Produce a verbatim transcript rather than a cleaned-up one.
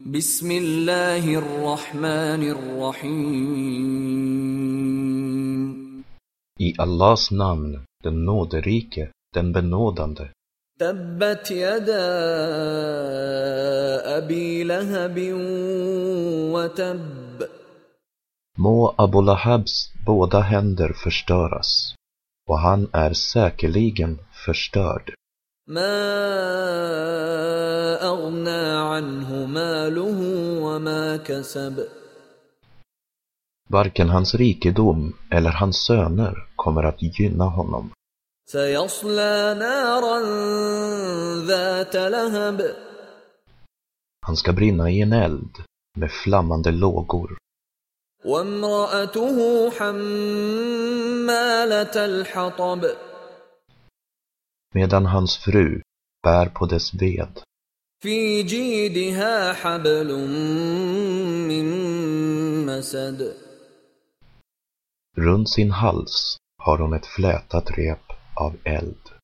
Bismillahirrahmanirrahim. I Allahs namn, den nåderike, den benådande. Tabbat yada abi lahabin wa tabb. Må Abu Lahabs båda händer förstöras, och han är säkerligen förstörd. Ma aghna anhu maluhu wa ma kasab. Varken hans rikedom eller hans söner kommer att gynna honom. Sayasla naran dhata lahab. Han ska brinna i en eld med flammande lågor. Wa imra'atuhu hammalat al-hatab. Medan hans fru bär på dess ved. Fi jidha hablum min masad. Runt sin hals har hon ett flätat rep av eld.